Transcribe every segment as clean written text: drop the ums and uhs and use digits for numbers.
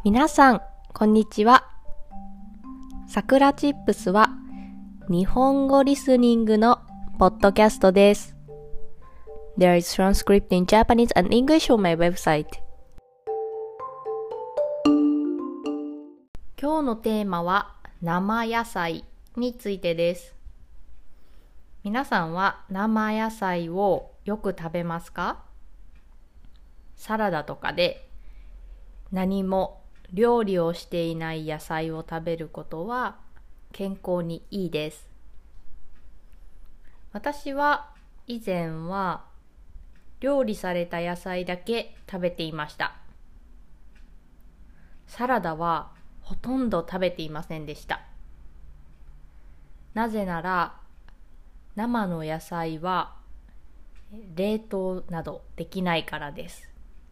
皆さん、こんにちは。さくらチップスは日本語リスニングのポッドキャストです。There is transcript in Japanese and English on my website. 今日のテーマは生野菜についてです。皆さんは生野菜をよく食べますか？サラダとかで何も料理をしていない野菜を食べることは健康にいいです。私は以前は料理された野菜だけ食べていました。サラダはほとんど食べていませんでした。なぜなら生の野菜は冷凍などできないからです。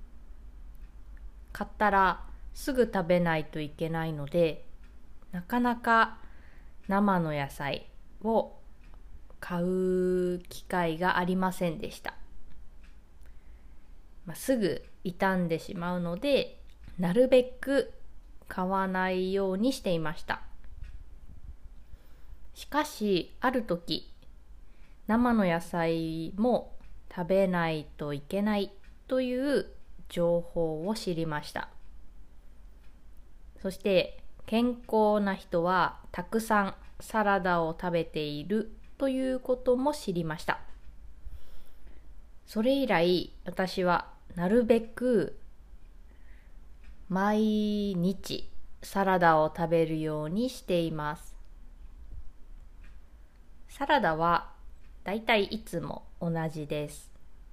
買ったらすぐ食べないといけないので、なかなか生の野菜を買う機会がありませんでした。すぐ傷んでしまうので、なるべく買わないようにしていました。しかし、ある時、生の野菜も食べないといけないという情報を知りました。そして健康な人はたくさんサラダを食べているということも知りました。それ以来私はなるべく毎日サラダを食べるようにしています。サラダはだいたいいつも同じです。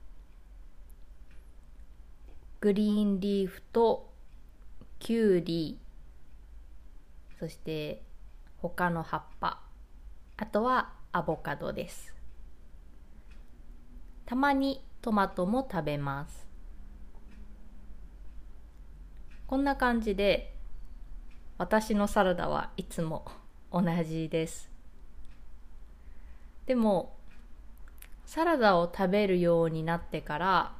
グリーンリーフとキュウリ、そして他の葉っぱ、あとはアボカドです。たまにトマトも食べます。こんな感じで私のサラダはいつも同じです。でもサラダを食べるようになってから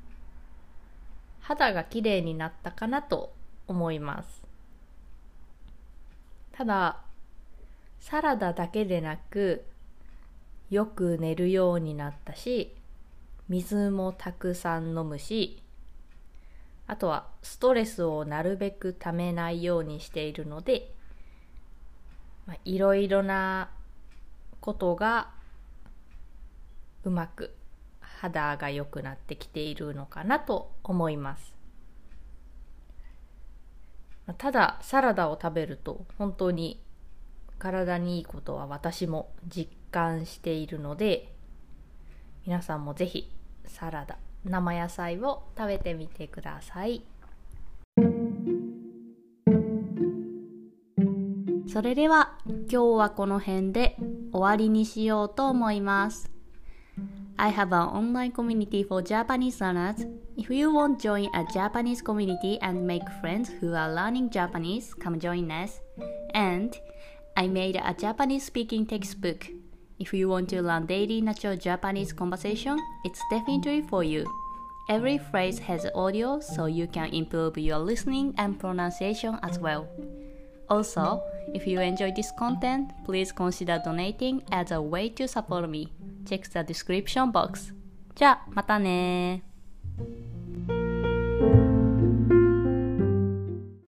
肌がきれいになったかなと思います。ただ、サラダだけでなく、よく寝るようになったし、水もたくさん飲むし、あとはストレスをなるべくためないようにしているので、いろいろなことがうまく肌が良くなってきているのかなと思います。ただサラダを食べると本当に体にいいことは私も実感しているので、皆さんもぜひサラダ、生野菜を食べてみてください。それでは今日はこの辺で終わりにしようと思います。I have an online community for Japanese learners. If you want to join a Japanese community and make friends who are learning Japanese, come join us. And I made a Japanese speaking textbook. If you want to learn daily natural Japanese conversation, it's definitely for you. Every phrase has audio, so you can improve your listening and pronunciation as well. Also, if you enjoy this content, please consider donating as a way to support me. Check the description box. じゃあ、またねー。